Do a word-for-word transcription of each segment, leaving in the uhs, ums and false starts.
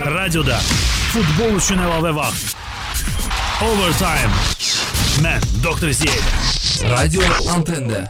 Radioda futbol üçün əlavə vaxt. Overtime. Mən Doktor Ziya. Radio Antende.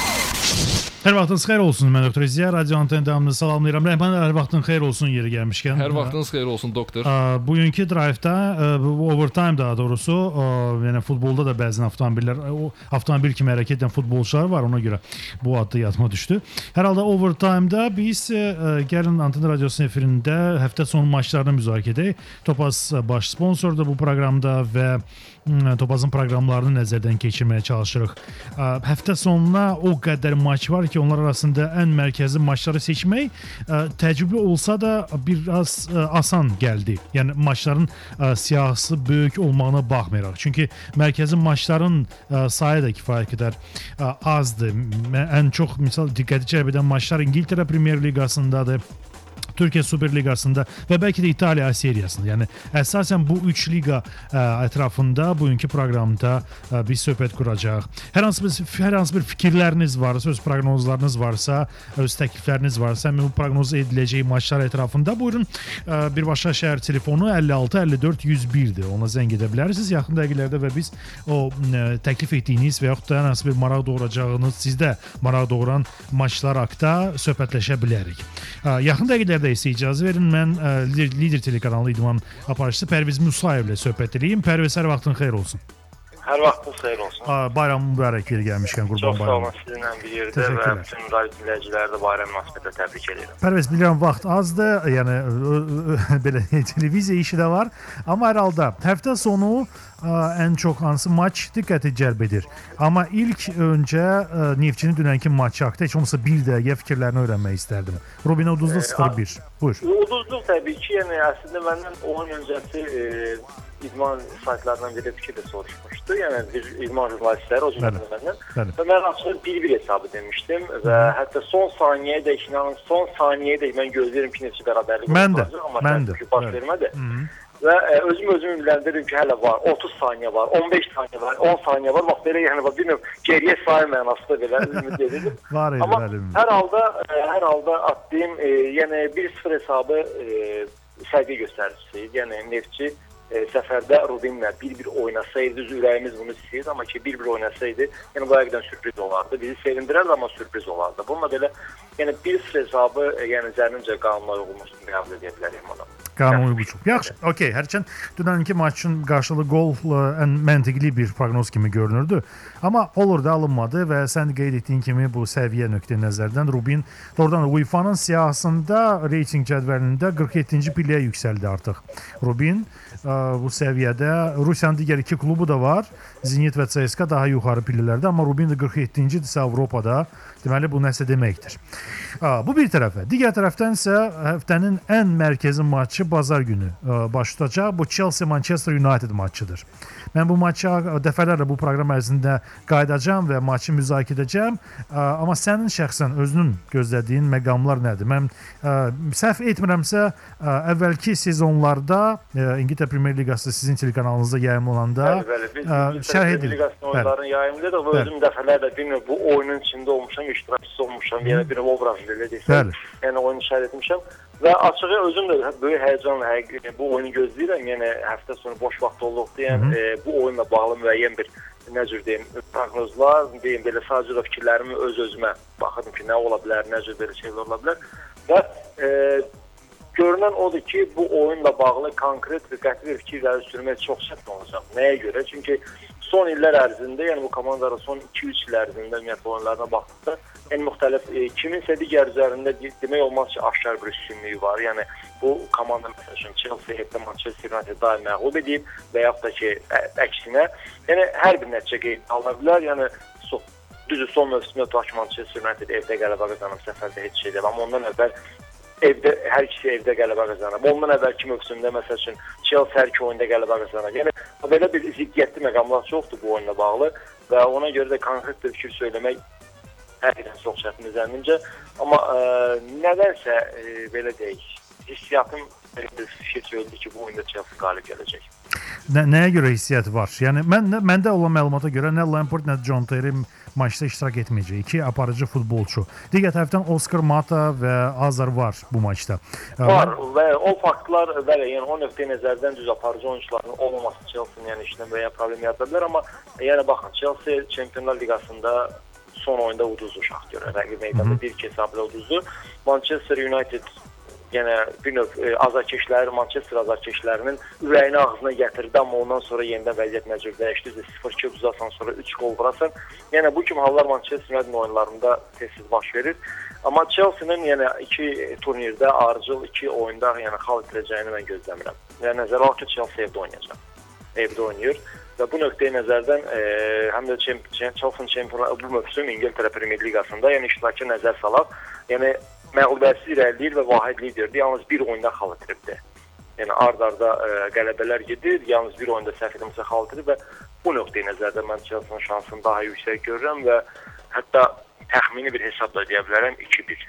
Hər vaxtınız xeyir olsun, mən Doktor Ziya. Radio Antende davamını salamlayıram. Rəhman, hər vaxtın xeyir olsun yeri gəlmişkən. Hər vaxtınız xeyir olsun, doktor. Bugünkü drive'da, overtime daha doğrusu, yəni futbolda da bəzən avtomobillər, avtomobil kimi hərəkət edən futbolçular var, ona görə bu adda yadıma düşdü. Hər halda overtime'da biz gəlin Antende Radiosunun efirində həftə sonu maçlarını müzakirə edək. Topaz baş sponsordur bu proqramda və Topazın proqramlarını nəzərdən keçirməyə çalışırıq. Həftə sonuna o qədər maç var ki, onlar arasında ən mərkəzi maçları seçmək təcrübə olsa da biraz asan gəldi. Yəni maçların siyahısı böyük olmağına baxmayaraq. Çünki mərkəzi maçların sayı da kifayət qədər azdır. Ən çox misal diqqəti cəlb edən maçlar İngiltərə Premyer Liqasındadır. Türkiyə Super Liqasında və bəlkə də İtaliya seriyasında. Yəni əsasən bu üç liqa ə, ətrafında bugünkü proqramda ə, biz söhbət quracağıq. Hər hansı bir hər hansı bir fikirləriniz varsa, öz proqnozlarınız varsa, öz təklifləriniz varsa, bu proqnoz ediləcək maçlar ətrafında buyurun. Ə, birbaşa şəhər telefonu əlli altı əlli dörd yüz birdir. Ona zəng edə bilərsiniz yaxın dəqiqələrdə və biz o ə, təklif etdiyiniz və yaxud da hər hansı bir maraq doğuracağınız, sizdə maraq doğuran maçlar haqqında söhbətləşə bilərik. Ə, yaxın dəqiqələrdə isə icazə verin, mən ə, Lider telekanalı idman aparıcısı Pərviz Musayevlə söhbət edeyim. Pərviz, hər vaxtın xeyir olsun. Hər vaxtınız xeyir olsun. Aa, bayram mübarək yeri gəlmişkən, Qurban bayramı. Çox sağ olun, sizinlə bir yerdə və bütün radio dinləyiciləri də bayram münasibətilə təbrik edirəm. Pərviz, bilirəm vaxt azdır, yəni ə, ə, belə televiziya işi də var, amma hər halda həftə sonu ə, ən çox hansı maç diqqəti cəlb edir. Amma ilk öncə ə, Neftçinin dünənki maçı haqqında heç olmasa bir dəqiqə fikirlərini öyrənmək istərdim. Rubin uduzlu sıfır bir. Buyur. Uduzluq təbii ki, yəni əslində məndən on öncəsi e, idman saytlarından biri fikir də soruşmuşdu. Yəni bir idman jurnalistləri o cümlədən məndən. Və mən açıq bir bir hesabı demişdim və Hı. hətta son saniyəyə də inanın son saniyəyə də mən gözləyirəm ki, neçə bərabərlik olacaq, amma mən də baş vermədi. Və ə, özüm özümü biləndirirəm ki, hələ var otuz saniyə var, on beş saniyə var, on saniyə var. Bax belə yəni bax bilmirəm, geriyə sayı mənasında belə ümid edirəm. Var idi, amma bəli. Hər halda ə, hər halda atdığım e, yəni bir sıfır hesabı e, səviyyə göstəricisi. Yəni Neftçi e, səfərdə Rubinlə bir bir oynasaydı, ürəyimiz bunu istəyirdi, amma ki bir bir oynasaydı, yəni bu həqiqətən sürpriz olardı. Bizi sevindirərdi, amma sürpriz olardı. Bununla belə yəni bir sıfır hesabı e, yəni zənnimcə qanuna uyğunluğunu qəbul edə bilərik ona. Qanun uyğunluq. Yaxşı, okey. Hərçənd dünənki maçın qarşılığı gol ən məntiqli bir proqnoz kimi görünürdü. Amma olur da alınmadı və sən qeyd etdiyin kimi bu səviyyə nöqteyi nəzərdən Rubin doğrudan UEFA-nın siyahısında reytinq cədvəlində qırx yeddinci pilləyə yüksəldi artıq. Rubin bu səviyyədə Rusiyanın digər iki klubu da var. Zenit və C S K A daha yuxarı pillələrdə, amma Rubin də qırx yeddinci-dirsə Avropada. Deməli bu nəsə deməkdir. Bu bir tərəfə. Digər tərəfdən isə həftənin ən mərkəzi maçı bazar günü baş tutacaq. Bu Chelsea Manchester United maçıdır. Mən bu maça dəfələrlə bu proqram ərzində qayıdacağam və maçı müzakirə edəcəm. Amma sənin şəxsən özünün gözlədiyin məqamlar nədir? Mən səhv etmirəmsə, əvvəlki sezonlarda İngiltərə Premyer Liqası sizin telekanalınızda yayımlananda şərh edilir. Oyunların yayımlıdır və özüm dəfələrlə bilmirəm bu oyunun içində olmuşam, iştirakçısı olmuşam, yəni bir obraz belə desəm. Yəni oyunu şərh etmişəm. Və açığı özüm də böyük həyəcanla həqiqətən bu oyunu gözləyirəm. Yəni həftə sonu boş vaxt olduqda, yəni e, bu oyunla bağlı müəyyən bir nə cür deyim, proqnozlar, deyim belə sadəcə də fikirlərimi öz-özümə baxırdım ki, nə ola bilər, nə cür belə şeylər ola bilər. Və e, görünən odur ki, bu oyunla bağlı konkret və qəti bir fikirləri sürmək çox çətin olacaq. Nəyə görə? Çünki son illər ərzində, yəni bu komandaların son iki üç il ərzində ümumiyyətlə oyunlarına baxdıqda ən müxtəlif e, kiminsə digər üzərində demək olmaz ki, aşkar bir üstünlüyü var. Yəni bu komanda məsələn Chelsea hətta Manchester United daim məğlub edib və yaxud da ki ə, əksinə, yəni hər bir nəticə qeyd alına bilər. Yəni so, düzü son mövsümdə tutaq ki, Manchester United evdə qələbə qazanıb, səfərdə heç şey deyil. Amma ondan əvvəl evdə hər ikisi evdə qələbə qazanıb. Ondan əvvəlki mövsümdə məsəl üçün Chelsea hər iki oyunda qələbə qazanıb. Yəni belə bir ziddiyyətli məqamlar çoxdur bu oyunla bağlı və ona görə də konkret bir fikir söyləmək həqiqətən çox çətindir zənnimcə. Amma ə, nədənsə ə, belə deyək, hissiyatım bir fikir söyledi ki, bu oyunda Chelsea qalib gələcək. Nə, nəyə görə hissiyat var? Yəni mən məndə olan məlumata görə nə Lampard, nə John Terry maçda iştirak etməyəcək. İki aparıcı futbolçu. Digər tərəfdən Oscar Mata və Azar var bu maçda. Var mən... və o faktlar bəli, yəni o nöqteyi nəzərdən düz aparıcı oyunçuların olmaması Chelsea-nin yəni işinə müəyyən problem yarada bilər, amma yəni baxın, Chelsea Çempionlar Liqasında son oyunda uduzdu Şaxtyor. Rəqib meydanda bir iki hesabla uduzdu. Manchester United yenə bir növ e, azarkeşləri, Manchester azarkeşlərinin ürəyini ağzına gətirdi, amma ondan sonra yenidən vəziyyət məcbur dəyişdi. sıfır iki uzasan sonra üç gol vurasan. Yəni bu kimi hallar Manchester United oyunlarında tez-tez baş verir. Amma Chelsea-nin yəni iki turnirdə arıcıl iki oyunda yəni xal itirəcəyini mən gözləmirəm. Yəni nəzərə alaq ki, Chelsea evdə oynayacaq. Evdə oynayır və bu nöqteyi nəzərdən e, həm də Chelsea çempionlar bu mövsüm İngiltərə Premyer Liqasında yəni iştirakı nəzər salaq. Yəni məğlubiyyətsiz irəliləyir və vahid liderdir. Yalnız bir oyunda xal itiribdir. Yəni ard-arda e, qələbələr gedir, yalnız bir oyunda səhv etmirəmsə xal itirib və bu nöqteyi nəzərdən mən Chelsea-nin şansını daha yüksək görürəm və hətta təxmini bir hesabla deyə bilərəm iki bir.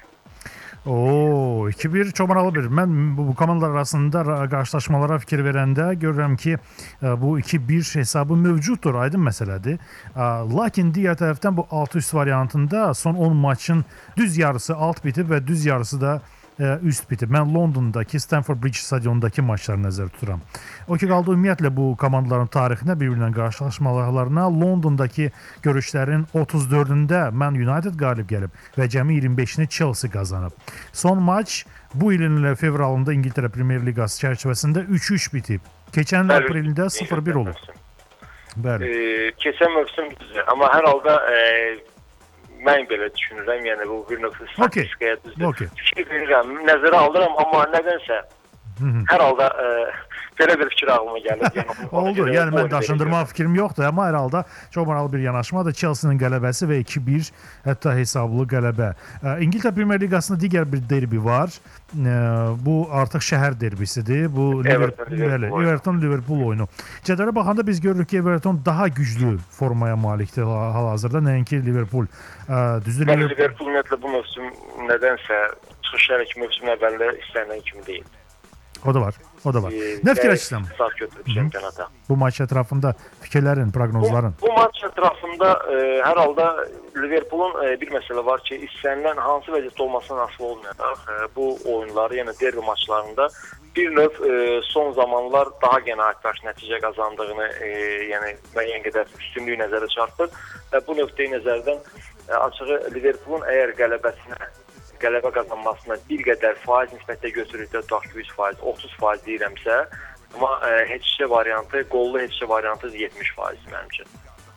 Oo, iki bir çox maraqlı bir. Mən bu, bu komandalar arasında qarşılaşmalara fikir verəndə görürəm ki, bu iki bir hesabı mövcuddur, aydın məsələdir. Lakin digər tərəfdən bu altı üst variantında son on maçın düz yarısı alt bitib və düz yarısı da üst bitib. Mən Londondakı Stamford Bridge stadionundakı maçları nəzərdə tuturam. O ki qaldı ümumiyyətlə bu komandaların tarixinə, bir-birinə qarşılaşmalarına Londondakı görüşlərin otuz dördündə mən United qalib gəlib və cəmi iyirmi beşini Chelsea qazanıb. Son maç bu ilin fevralında İngiltərə Premyer Liqası çərçivəsində üç üç bitib. Keçən aprelində sıfır bir olub. Bəli. E, keçən mövsüm düzdür, amma hər halda e, mən belə düşünürəm, yəni bu bir nöqtə statistikaya düzdür. Okay. Fikir verirəm, nəzərə alıram, amma nədənsə hər halda e, belə bir fikir ağlıma gəlir. Yəni, oldu, yəni mən daşındırma fikrim yoxdur, amma hər halda çox maraqlı bir yanaşmadır. Chelsea-nin qələbəsi və iki bir hətta hesablı qələbə. İngiltərə Premyer Liqasında digər bir derbi var. Bu artıq şəhər derbisidir. Bu Everton-Liverpool oyunu. Cədvələ baxanda biz görürük ki, Everton daha güclü formaya malikdir hal-hazırda, nəinki Liverpool. Düzdür, Liverpool, Liverpool ümumiyyətlə bu mövsüm nədənsə çıxışlar iki mövsüm əvvəldə istənilən kimi deyil. O da var, o da var. E, nə fikirləşirsən? Sağ götürüb çempionata. Bu maç ətrafında fikirlərin, proqnozların? Bu, bu maç ətrafında e, hər halda Liverpoolun e, bir məsələ var ki, istənilən hansı vəziyyətdə olmasına asılı olmayaraq e, bu oyunları, yəni derbi maçlarında bir növ e, son zamanlar daha qənaətbəxş nəticə qazandığını, e, yəni müəyyən qədər üstünlüyü nəzərə çarpır və bu nöqteyi nəzərdən e, açığı Liverpoolun əgər qələbəsinə qələbə qazanmasına bir qədər faiz nisbətdə götürükdə tutaq ki, yüz faiz, otuz faiz deyirəmsə, amma e, heç-şə variantı, qollu heç-şə variantı yetmiş faiz mənim üçün.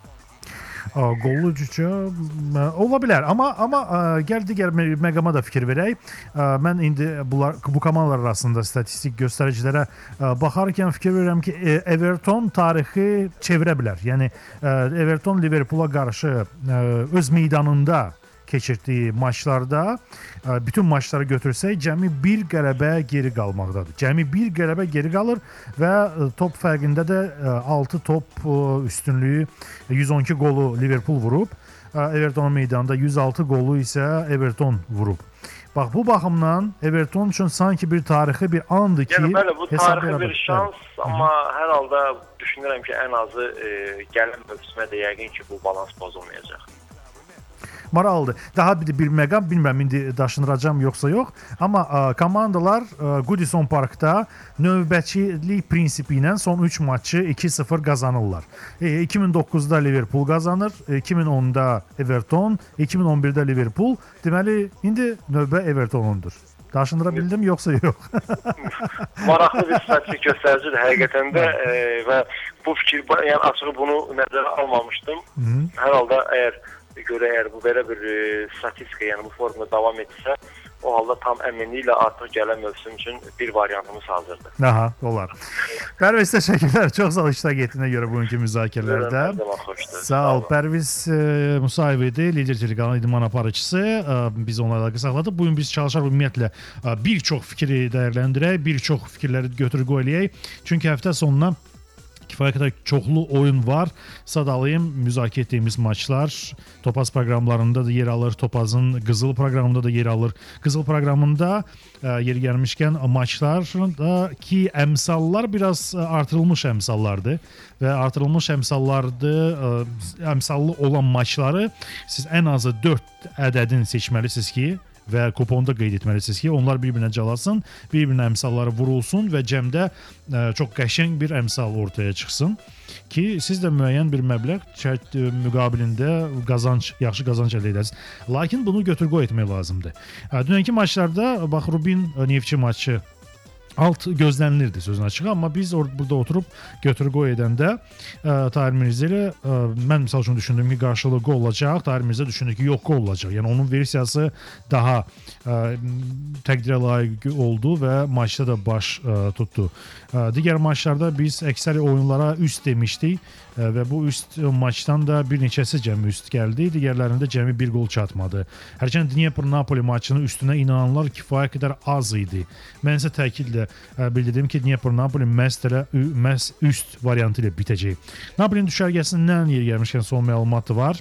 Qollu cücə ola bilər, amma amma gəl digər məqama da fikir verək. Mən indi bunlar bu komandalar arasında statistik göstəricilərə baxarkən fikir verirəm ki, Everton tarixi çevirə bilər. Yəni Everton Liverpoola qarşı öz meydanında keçirdiyi maçlarda bütün maçları götürsək cəmi bir qələbə geri qalmaqdadır. Cəmi bir qələbə geri qalır və top fərqində də altı top üstünlüyü yüz on iki qolu Liverpool vurub. Evertonun meydanında yüz altı qolu isə Everton vurub. Bax bu baxımdan Everton üçün sanki bir tarixi bir andır ki, yəni bəli, bu tarixi bir şans, evet. Amma hər halda düşünürəm ki, ən azı e, gələn mövsümə də yəqin ki, bu balans pozulmayacaq. Maraqlıdır. Daha bir, bir məqam, bilmirəm indi daşındıracam yoxsa yox, amma ə, komandalar ə, Goodison Parkda növbəçilik prinsipi ilə son üç maçı iki sıfır qazanırlar. E, iki min doqquzda Liverpool qazanır, iki min onda Everton, iki min on birdə Liverpool. Deməli, indi növbə Evertonundur. Daşındıra bildim yoxsa yox? Maraqlı bir statistik göstəricidir həqiqətən də e, və bu fikir, yəni açığı bunu nəzərə almamışdım. Hı-hı. Hər halda əgər görə əgər bu belə bir e, statistika, yəni bu formada davam etsə, o halda tam əminliklə artıq gələn mövsüm üçün bir variantımız hazırdır. Aha, olar. Pərviz, təşəkkürlər. Çox sağ ol iştirak etdiyinə görə bugünkü müzakirələrdə. Sağ ol. Pərviz e, Musayev idi, Lider telekanalının idman aparıcısı. E, biz onlarla qısaqladıq. Bugün biz çalışaq ümumiyyətlə e, bir çox fikri dəyərləndirək, bir çox fikirləri götür qoy eləyək. Çünki həftə sonuna kifayət qədər çoxlu oyun var. Sadalayım, müzakirə etdiyimiz maçlar Topaz proqramlarında da yer alır. Topazın Qızıl proqramında da yer alır. Qızıl proqramında ə, yeri gəlmişkən maçlarda ki əmsallar biraz artırılmış əmsallardır və artırılmış əmsallardır, ə, əmsallı olan maçları siz ən azı dörd ədədin seçməlisiniz ki və kuponda qeyd etməlisiniz ki, onlar bir-birinə calasın, bir-birinə əmsalları vurulsun və cəmdə ə, çox qəşəng bir əmsal ortaya çıxsın ki, siz də müəyyən bir məbləğ şərt müqabilində qazanc, yaxşı qazanc əldə edəsiniz. Lakin bunu götür-qoy etmək lazımdır. Ə, dünənki maçlarda bax Rubin Neftçi maçı alt gözlənilirdi sözün açığı, amma biz or burada oturub götür-qoy edəndə ə, Tahir Mirzə ilə ə, mən misal üçün düşündüm ki, qarşılığı qol olacaq. Tahir Mirzə düşündü ki, yox qol olacaq. Yəni onun versiyası daha ə, təqdirə layiq oldu və maçda da baş ə, tutdu. Ə, digər maçlarda biz əksəri oyunlara üst demişdik ə, və bu üst maçdan da bir neçəsi cəmi üst gəldi. Digərlərində cəmi bir qol çatmadı. Hərçənd Dnepr-Napoli maçının üstünə inananlar kifayət qədər az idi. Mən isə təkidlə bildirdim ki, Dnepr-Napoli məhz elə məhz üst variantı ilə bitəcək. Napolinin düşərgəsindən yer gəlmişkən son məlumatı var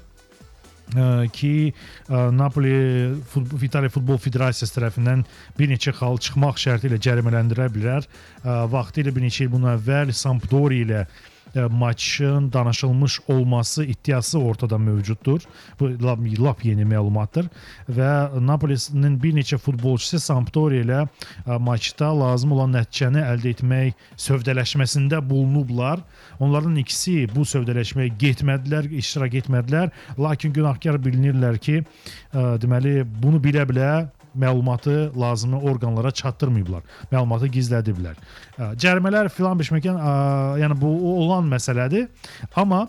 ki, Napoli Futbol, İtaliya Futbol Federasiyası tərəfindən bir neçə xal çıxmaq şərti ilə cərimələndirə bilər. Vaxtı ilə bir neçə il bundan əvvəl Sampdoria ilə maçın danışılmış olması iddiası ortada mövcuddur. Bu lap, lap yeni məlumatdır və Napolinin bir neçə futbolçusu Sampdoria ilə maçda lazım olan nəticəni əldə etmək sövdələşməsində bulunublar. Onların ikisi bu sövdələşməyə getmədilər, iştirak etmədilər. Lakin günahkar bilinirlər ki, deməli bunu bilə-bilə məlumatı lazımlı orqanlara çatdırmayıblar. Məlumatı gizlədiblər. Cərimələr filan biçməkən, yəni bu olan məsələdir. Amma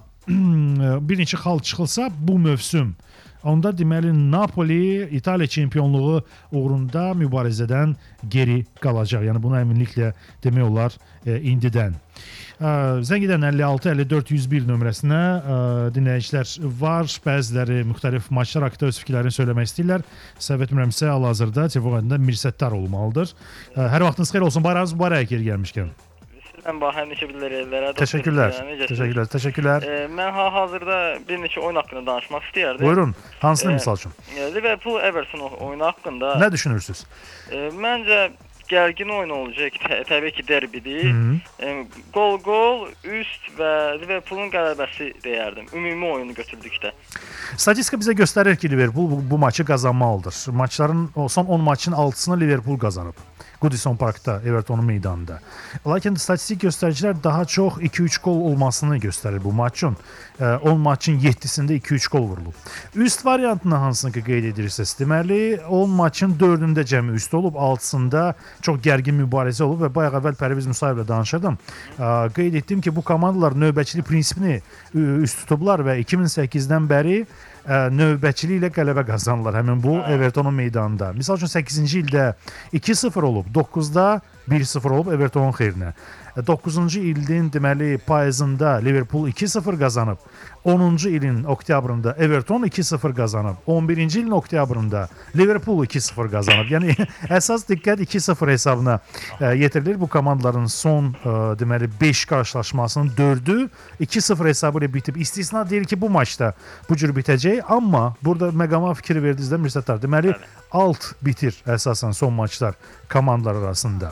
bir neçə xal çıxılsa bu mövsüm onda deməli Napoli İtaliya çempionluğu uğrunda mübarizədən geri qalacaq. Yəni bunu əminliklə demək olar e, indidən. E, zəng edən əlli altı əlli dörd yüz bir nömrəsinə e, dinləyicilər var. Bəziləri müxtəlif maçlar haqqında öz fikirlərini söyləmək istəyirlər. Səhv etmirəmsə hal-hazırda telefon xəttində Mirsəttar olmalıdır. E, hər vaxtınız xeyir olsun. Bayrağınız mübarək yeri gəlmişkən. Mən Bahar neçə bilirlərə. Təşəkkürlər. Təşəkkürlər. Təşəkkürlər. E, mən hal-hazırda bir neçə oyun haqqında danışmaq istəyərdim. Buyurun. Hansını e, misal üçün? E, Liverpool Everton oyunu haqqında. Nə düşünürsüz? E, məncə gərgin oyun olacaq. Tə təbii ki, derbidir. E, gol gol üst və Liverpoolun qələbəsi deyərdim. Ümumi oyunu götürdükdə. Statistika bizə göstərir ki, Liverpool bu, bu maçı qazanmalıdır. Maçların son on maçın altısını Liverpool qazanıb. Goodison Parkda, Everton'un meydanında. Lakin statistik göstəricilər daha çox iki üç gol olmasını göstərir bu maçın. on maçın yeddisində iki üç gol vurulub. Üst variantını hansını ki qeyd edirsiniz? Deməli, on maçın dördündə cəmi üst olub, altısında çox gərgin mübarizə olub və bayaq əvvəl Pərviz Musayevlə danışırdım. Qeyd etdim ki, bu komandalar növbəçilik prinsipini üst tutublar və iki min səkkizdən bəri növbəçiliklə qələbə qazanırlar həmin bu Everton'un meydanında. Misal üçün səkkizinci ildə iki sıfır olub, doqquzda bir sıfır olub Everton'un xeyrinə. doqquzuncu ilin deməli payızında Liverpool iki sıfır qazanıb. onuncu ilin oktyabrında Everton iki sıfır qazanıb. on birinci ilin oktyabrında Liverpool iki sıfır qazanıb. Yəni əsas diqqət iki sıfır hesabına ə, yetirilir. Bu komandaların son ə, deməli beş qarşılaşmasının dördü iki sıfır hesabı ilə bitib. İstisna deyil ki, bu maçda bu cür bitəcək, amma burada məqama fikir verdinizdə Mirsəttar. Deməli alt bitir əsasən son maçlar komandalar arasında.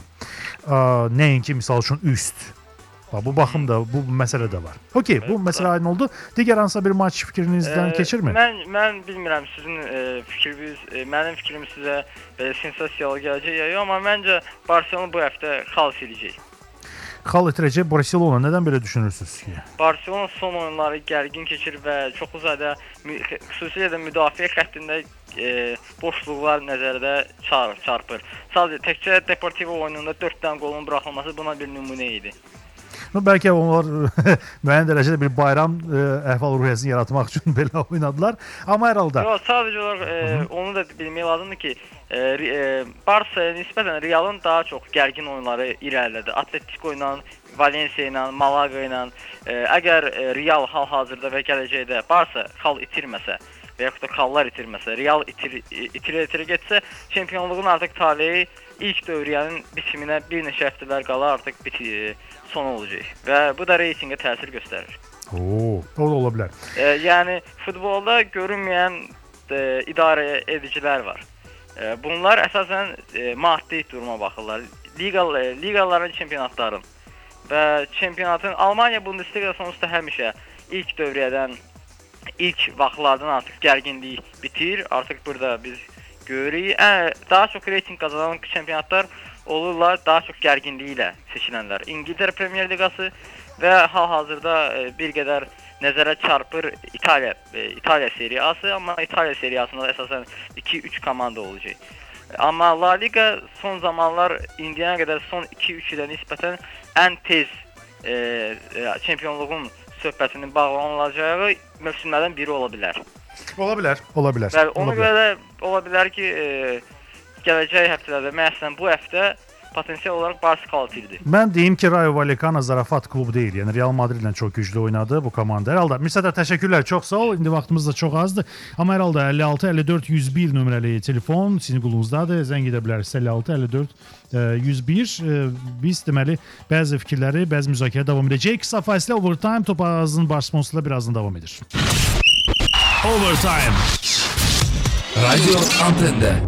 Ə, nəinki misal üçün üst. Bu baxımda bu məsələ də var. Okey, bu məsələ aydın oldu. Digər hansısa bir maç fikrinizdən e, keçirmi? Mən mən bilmirəm sizin e, fikriniz, e, mənim fikrim sizə e, sensasiyalı gələcək ya, amma məncə Barselona bu həftə xal siləcək. Xal itirəcək Barselona. Nədən belə düşünürsünüz ki? Barselona son oyunları gərgin keçir və çox uzadı, xüsusilə də müdafiə xəttində e, boşluqlar nəzərdə çar çarpır. Sadəcə təkcə Deportivo oyununda dörd dənə qolun buraxılması buna bir nümunə idi. No, bəlkə onlar müəyyən dərəcədə bir bayram e, əhval-ruhiyyəsini yaratmaq üçün belə oynadılar. Amma hər halda... Yox, sadəcə olaraq e, onu da bilmək lazımdır ki, e, e, Barça nisbətən Realın daha çox gərgin oyunları irəlilədi. Atletico ilə, Valencia ilə, Malaga ilə. E, əgər e, Real hal-hazırda və gələcəkdə Barça xal itirməsə və yaxud da Kallar itirməsə, Real itir itirə-itirə getsə, çempionluğun artıq taleyi ilk dövriyyənin bitiminə bir neçə həftələr qala artıq biti son olacaq və bu da reytinqə təsir göstərir. Oo, o da ola bilər. E, yəni futbolda görünməyən e, idarə edicilər var. E, bunlar əsasən e, maddi duruma baxırlar. Liga e, liqaların, çempionatların və çempionatın Almaniya Bundesliga sonuçta həmişə ilk dövriyyədən, ilk vaxtlardan artıq gərginlik bitir. Artıq burada biz görürük. Ə, daha çox reyting qazanan çempionatlar olurlar, daha çox gərginliyi ilə seçilənlər. İngiltərə Premier Liqası və hal-hazırda e, bir qədər nəzərə çarpır İtaliya e, İtaliya seriyası, amma İtaliya seriyasında əsasən iki üç komanda olacaq. Amma La Liga son zamanlar indiyənə qədər son iki üç ilə nisbətən ən tez e, e, çempionluğun söhbətinin bağlanılacağı mövsümlərdən biri ola bilər. Ola bilər, ola bilər. Və ona görə də ola bilər ki, e, gələcək həftələrdə, məsələn bu həftə potensial olaraq Barça kvalitetlidir. Mən deyim ki, Rayo Vallecano zarafat klubu deyil. Yəni Real Madridlə çox güclü oynadı bu komanda. Hər halda Mirsədə təşəkkürlər, çox sağ ol. İndi vaxtımız da çox azdır. Amma hər halda əlli altı əlli dörd yüz bir nömrəli telefon sizin qulunuzdadır. Zəng edə bilərsiniz əlli altı əlli dörd yüz bir. Biz deməli bəzi fikirləri, bəzi müzakirə davam edəcək. Qısa fasilə Overtime Topazın baş sponsorluğu birazdan davam edir. Overtime. Radyo Antende.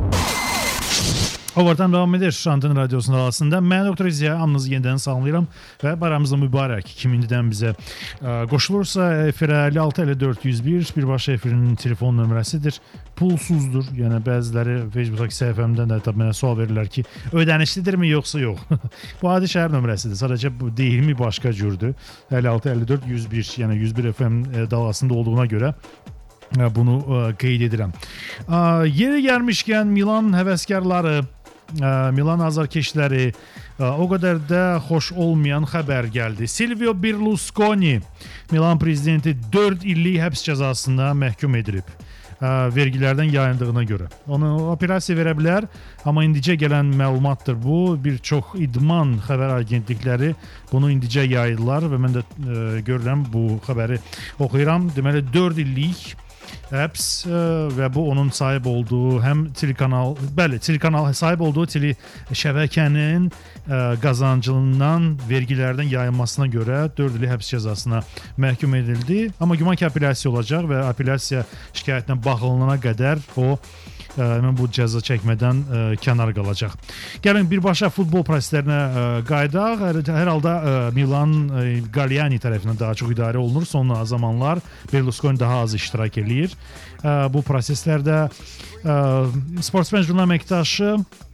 Overtime davam edir. Anten radyosunun arasında. Mən Doktor İziya, hamınızı yenidən salamlayıram və bayramımızda mübarək. Kim indidən bizə ə, qoşulursa, efirə əlli altı əlli dörd yüz bir birbaşa efirinin telefon nömrəsidir. Pulsuzdur. Yəni bəziləri Facebook'dakı səhifəmdən də tabii mənə sual verirlər ki, ödənişlidirmi yoxsa yox? Bu adi şəhər nömrəsidir. Sadəcə bu deyilmi başqa cürdür. əlli altı əlli dörd yüz bir, yəni yüz bir F M dalğasında olduğuna görə bunu ə, qeyd edirəm. Ə, yeri gəlmişkən Milan həvəskarları, Milan azarkeşləri o qədər də xoş olmayan xəbər gəldi. Silvio Berlusconi Milan prezidenti dörd illik həbs cəzasına məhkum edilib. Vergilərdən yayındığına görə. Onu operasiya verə bilər, amma indicə gələn məlumatdır bu. Bir çox idman xəbər agentlikləri bunu indicə yaydılar və mən də e, görürəm bu xəbəri oxuyuram. Deməli dörd illik həbs ə, və bu onun sahib olduğu həm telekanal, bəli, telekanal sahib olduğu tele şəbəkənin ə, qazancından vergilərdən yayılmasına görə dörd illik həbs cəzasına məhkum edildi. Amma güman ki, apellyasiya olacaq və apellyasiya şikayətinə baxılana qədər o Mən bu cəza çəkmədən ə, kənar qalacaq. Gəlin birbaşa futbol proseslərinə ə, qaydaq. Hər, hər halda ə, Milan ə, Galliani tərəfindən daha çox idarə olunur. Son zamanlar Berlusconi daha az iştirak eləyir. Ə, bu proseslərdə ə, Sportsmen jurnal əməkdaşı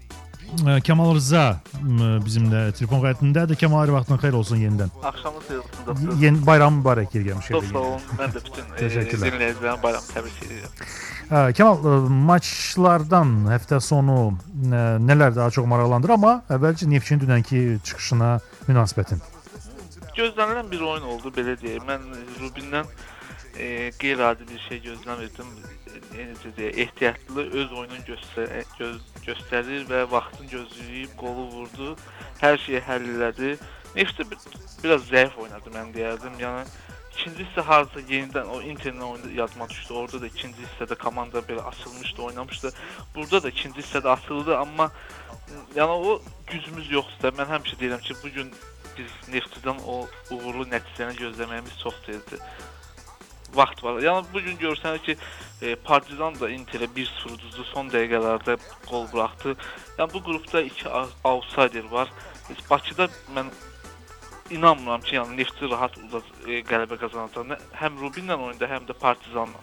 ə, Kamal Rza ə, bizimlə telefon qayıtındadır. Kamal, hər vaxtın xeyir olsun yenidən. Axşamınız xeyir olsun dostlar. Yeni bayram mübarək gəlmiş. Çox sağ olun. Mən də bütün dinləyicilərin bayramı təbrik edirəm. Kemal, maçlardan həftə sonu nələr daha çox maraqlandır, amma əvvəlcə Neftçinin dünənki çıxışına münasibətin. Gözlənilən bir oyun oldu, belə deyək. Mən Rubindən e, qeyri-adi bir şey gözləmirdim. E, ehtiyatlı öz oyununu göstər göz göstərir və vaxtını gözləyib qolu vurdu. Hər şeyi həll elədi. Neftçi biraz zəif oynadı, mən deyərdim. Yəni İkinci hissə harca yenidən o Interlə oyunda yadıma düşdü. Orada da ikinci hissədə komanda belə açılmışdı, oynamışdı. Burada da ikinci hissədə açıldı, amma yəni o gücümüz yoxdur. Mən həmişə deyirəm ki, bu gün biz Neftçidən o uğurlu nəticəni gözləməyimiz çox tezdir. Vaxt var. Yəni bu gün görsənir ki, e, Partizan da Interə bir sıfır uduzdu, son dəqiqələrdə qol buraxdı. Yəni bu qrupda iki outsider var. Bakıda mən İnanmıram ki, yəni Neftçi rahat uzaq e, qələbə qazanacaq. Həm Rubinlə oyunda, həm də Partizanla.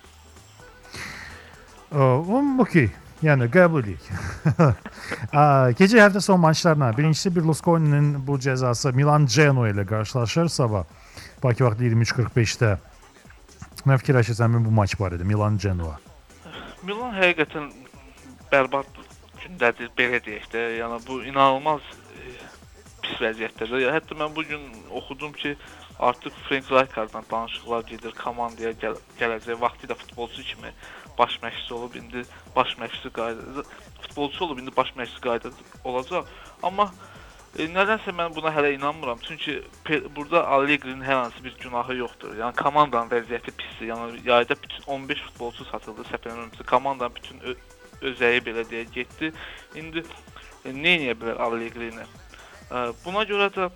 Um, okey. Yəni qəbul edirik. Gecə həftə son maçlarına. Birincisi Berlusconi'nin bu cəzası Milan Genoa ilə qarşılaşır sabah. Bakı vaxtı iyirmi üç qırx beşdə. Nə fikirləşirsən bu maç barədə Milan Genoa? Milan həqiqətən bərbad gündədir, belə deyək də. Yəni bu inanılmaz pis vəziyyətdədir. Hətta mən bu gün oxudum ki, artıq Frank Rijkaardla danışıqlar gedir, komandaya gəl gələcək. Vaxtilə futbolçu kimi baş məşqçi olub, indi baş məşqçi qayda futbolçu olub, indi baş məşqçi qayda olacaq. Amma E, nədənsə mən buna hələ inanmıram. Çünki burada Allegri'nin hər hansı bir günahı yoxdur. Yəni komandanın vəziyyəti pisdir. Yəni yayda bütün on beş futbolçu satıldı, səhv eləmirəmsə. Komandanın bütün özəyi belə deyə getdi. İndi e, nə edə bilər Allegri'ni? E, buna görə də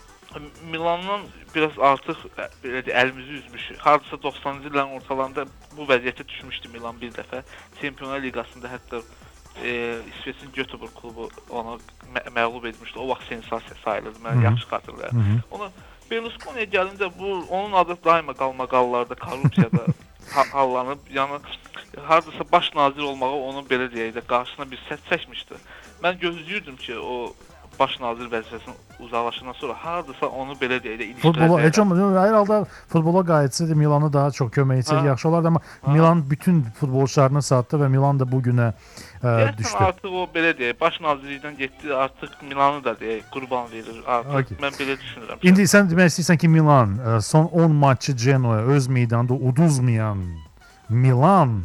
Milandan biraz artıq belə deyə əlimizi üzmüşük. Hardasa doxsanıncı illərin ortalarında bu vəziyyətə düşmüşdü Milan bir dəfə. Çempionlar Liqasında hətta E, İsveçin Göteborg klubu onu mə məğlub etmişdi. O vaxt sensasiya sayılırdı. Mən Hı-hı. yaxşı xatırlayıram. Ona Berlusconi'yə gəlincə bu onun adı daima qalmaqallarda, korrupsiyada ha hallanıb, yəni hardasa baş nazir olmağı onun belə deyək də qarşısına bir səs çəkmişdi. Mən gözləyirdim ki, o baş nazir vəzifəsindən uzaqlaşandan sonra hardasa onu belə deyək də ilişdirəcək. Futbola heç olmaz. Hər halda futbola qayıtsaydı Milanı daha çox kömək etsəydi yaxşı olardı, amma ha. Milan bütün futbolçularını satdı və Milan da bu günə ə, düşdü. Artıq o belə deyək, baş nazirlikdən getdi, artıq Milanı da deyək qurban verir. Artıq okay. Mən belə düşünürəm. İndi sən demək istəyirsən ki, Milan ə, son on maçı Genoa öz meydanında uduzmayan Milan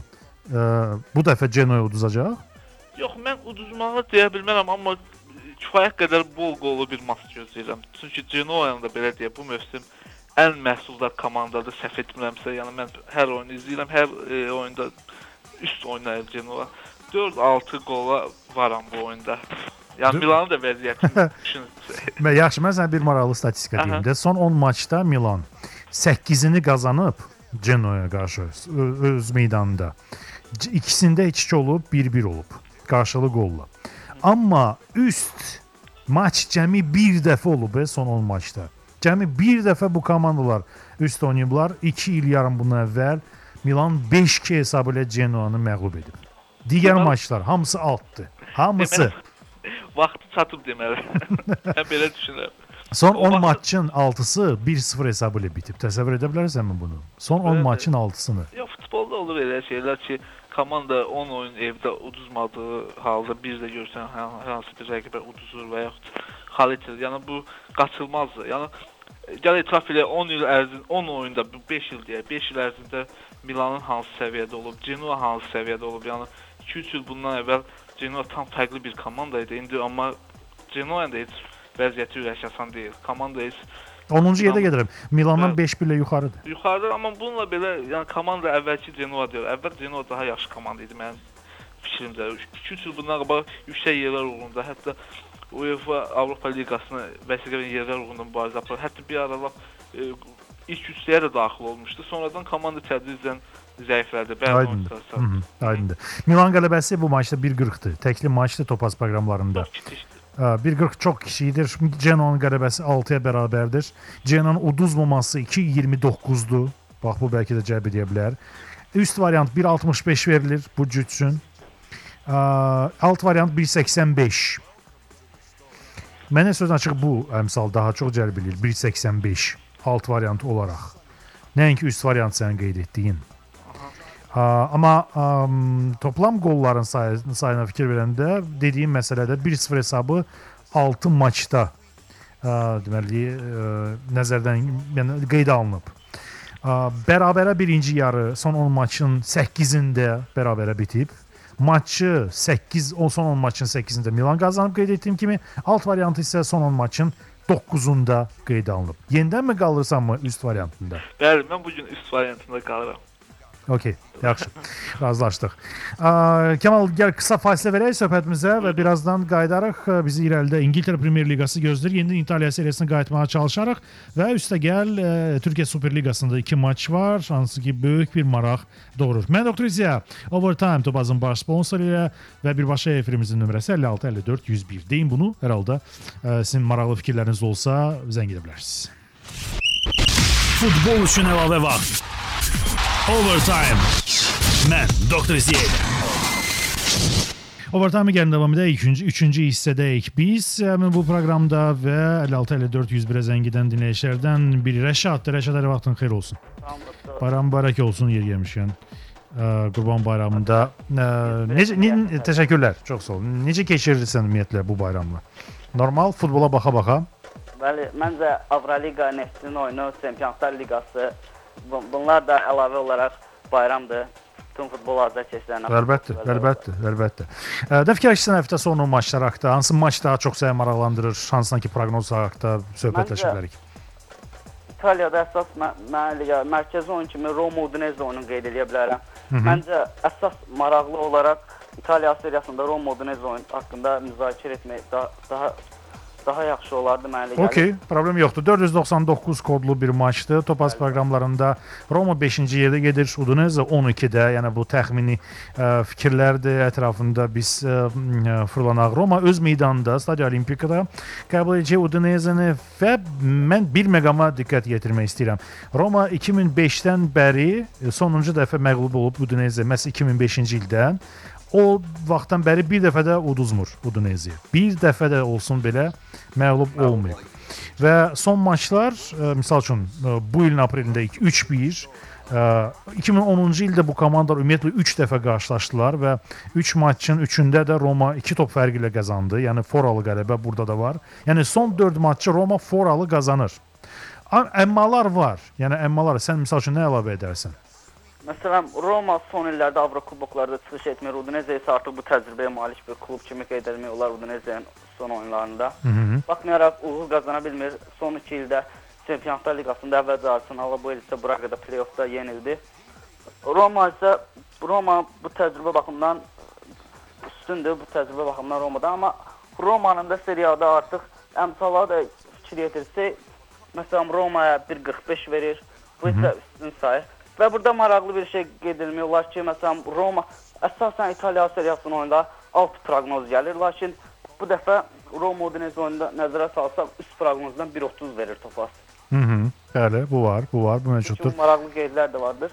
ə, bu dəfə Genoa uduzacaq? Yox, mən uduzmağı deyə bilmərəm, amma kifayət qədər bol qollu bir maç gözləyirəm. Çünki Genoa-nın da belə deyə bu mövsüm ən məhsuldar komandadır, səhv etmirəmsə. Yəni mən hər oyunu izləyirəm, hər e, oyunda üst oynayır Genoa. dörd altı qola varam bu oyunda. Yəni Milanın da vəziyyətini düşünün. Yaxşı, mən sənə bir maraqlı statistika deyim də. Son on maçda Milan səkkizini qazanıb Genoa-ya qarşı öz meydanında. İkisində iki iki olub, bir bir olub. Qarşılı qolla. Amma üst maç cəmi bir dəfə olub e, son on maçda. Cəmi bir dəfə bu komandalar üst oynayıblar. iki il yarım bundan əvvəl Milan beş iki hesabı ilə Genoa-nı məğlub edib. Digər deməli, maçlar hamısı altdır. Hamısı. Deməli, vaxtı çatıb deməli. Mən belə düşünürəm. Son on vaxtı... maçın altısı bir sıfır hesabı ilə bitib. Təsəvvür edə bilərsənmi bunu? Son on evet, maçın altısını. Yox, futbolda olur elə şeylər ki, komanda on oyun evdə uduzmadığı halda bir də görsən hər hansı bir rəqibə uduzur və yaxud xal etirir. Yəni bu qaçılmazdır. Yəni gəl etiraf elə on il ərzində on oyunda beş il deyək, beş il ərzində Milanın hansı səviyyədə olub, Genoa hansı səviyyədə olub. Yəni iki üç il bundan əvvəl Genoa tam fərqli bir komanda idi. İndi amma Genoa da heç vəziyyəti ürək asan deyil. Komanda heç onuncu yerdə gedirəm. Milandan beş bir ilə yuxarıdır. Yuxarıdır, amma bununla belə, yəni komanda əvvəlki Genoa deyil. Əvvəl Genoa daha yaxşı komanda idi mənim fikrimcə. iki üç il bundan qabaq yüksək yerlər uğrunda, hətta UEFA Avropa Liqasına vəsiqə verən yerlər uğrunda mübarizə aparır. Hətta bir aralar e, ilk üçlüyə də daxil olmuşdu. Sonradan komanda tədricən zəiflədi. Aydındır. Aydındır. Milan qələbəsi bu maçda bir qırxdır. Təkli maçdır Topaz proqramlarında. bir qırx çox kiçikdir. Genoa'nın qələbəsi altıya bərabərdir. Genoa'nın uduzmaması iki iyirmi doqquzdur. Bax, bu bəlkə də cəlb edə bilər. Üst variant bir altmış beş verilir bu cüt üçün. Alt variant bir səksən beş. Mənə sözün açıq bu əmsal daha çox cəlb edir. bir səksən beş alt variant olaraq. Nəinki üst variant sən qeyd etdiyin. Amma um, toplam qolların sayı, sayına fikir verəndə dediyim məsələdə bir sıfır hesabı altı maçda uh, deməli uh, nəzərdən yəni, qeydə alınıb. Uh, bərabərə birinci yarı son on maçın səkkizində bərabərə bitib. Maçı səkkiz, o son on maçın səkkizində Milan qazanıb qeyd etdiyim kimi, alt variantı isə son on maçın doqquzunda qeydə alınıb. Yenidən mi qalırsan mı üst variantında? Bəli, mən bugün üst variantında qalıram. Okey, yaxşı. Razılaşdıq. Kemal, gəl qısa fasilə verək söhbətimizə və birazdan qayıdarıq. Bizi irəlidə İngiltərə Premyer Liqası gözləyir. Yenidən İtaliya seriyasinə qayıtmağa çalışarıq və üstə gəl Türkiyə Super Liqasında iki maç var, hansı ki böyük bir maraq doğurur. Mən Doktor İziya, Overtime Topazın baş sponsoru ilə və birbaşa efirimizin nömrəsi əlli altı əlli dörd yüz bir. Deyin bunu, hər halda sizin maraqlı fikirləriniz olsa zəng edə bilərsiniz. Futbol üçün əlavə vaxt. Overtime. Mən Doktor İziya. Overtime gəlin davam edək. Üçüncü, üçüncü hissədəyik biz. Həmin bu proqramda və əlli altı əlli dörd yüz birə zəng edən dinləyicilərdən biri Rəşaddır. Rəşad, hər vaxtın xeyir olsun. Bayram mübarək olsun yer gəlmişkən. Qurban bayramında. Necə, ne, təşəkkürlər. Çox sağ olun. Necə keçirirsən ümumiyyətlə bu bayramla? Normal, futbola baxa-baxa? Bəli, məncə Avroliqa, Neftin oyunu, Çempionlar Liqası, bunlar da əlavə olaraq bayramdır. bütün futbol azərkeşlərinə. Əlbəttə, əlbəttə, əlbəttə. Də fikirləşirsən həftə sonu maçlar haqqında, hansı maç daha çox səni maraqlandırır, hansından ki proqnoz haqqında söhbətləşə bilərik? İtaliyada əsas mənə mərkəzi oyun kimi Roma Udinese oyununu qeyd edə bilərəm. Məncə əsas maraqlı olaraq İtaliya seriyasında Roma Udinese oyun haqqında müzakirə etmək daha daha daha yaxşı olardı mənə gəlir. Okey, problem yoxdur. dörd yüz doxsan doqquz kodlu bir maçdır. Topaz proqramlarında Roma beşinci yerdə gedir, Udinese on ikidə. Yəni bu təxmini ə, fikirlərdir ətrafında biz ə, fırlanaq. Roma öz meydanında, Stadio Olimpikada qəbul edəcək Udinese-ni və mən bir məqama diqqət yetirmək istəyirəm. Roma iki min beşdən bəri sonuncu dəfə məğlub olub Udinese, məhz iki min beşinci ildən. O vaxtdan bəri bir dəfə də uduzmur Udinese. Bir dəfə də olsun belə məğlub olmayıb. Və son maçlar, ə, misal üçün ə, bu ilin aprelində üç bir, ə, iki min onuncu ildə bu komandalar ümumiyyətlə üç dəfə qarşılaşdılar və üç maçın üçündə də Roma iki top fərqi ilə qazandı. Yəni foralı qələbə burada da var. Yəni son dörd maçı Roma foralı qazanır. Əmmalar var. Yəni əmmalar, sən misal üçün nə əlavə edərsən? Məsələn, Roma son illərdə Avrokuboklarda çıxış etmir. Udinese isə artıq bu təcrübəyə malik bir klub kimi qeyd edilmək olar Udinese'nin son oyunlarında. Hı -hı. Baxmayaraq uğur qazana bilmir. Son iki ildə Çempionlar Liqasında əvvəlcə Arsenal, bu il isə Braqada play-offda yenildi. Roma isə Roma bu təcrübə baxımından üstündür, bu təcrübə baxımından Roma'da, amma Roma'nın da seriyada artıq əmsalları da fikir yetirsək, məsələn Roma'ya bir qırx beş verir, bu isə üstün sayır. Və burada maraqlı bir şey qeyd edilmək olar ki, məsələn Roma əsasən İtaliya seriyasının oyunda alt proqnoz gəlir, lakin bu dəfə Roma Udinese oyunda nəzərə salsaq üst proqnozdan bir otuz verir Topaz. Hı -hı. Bəli, bu var, bu var, bu mövcuddur. Çünki maraqlı qeydlər də vardır.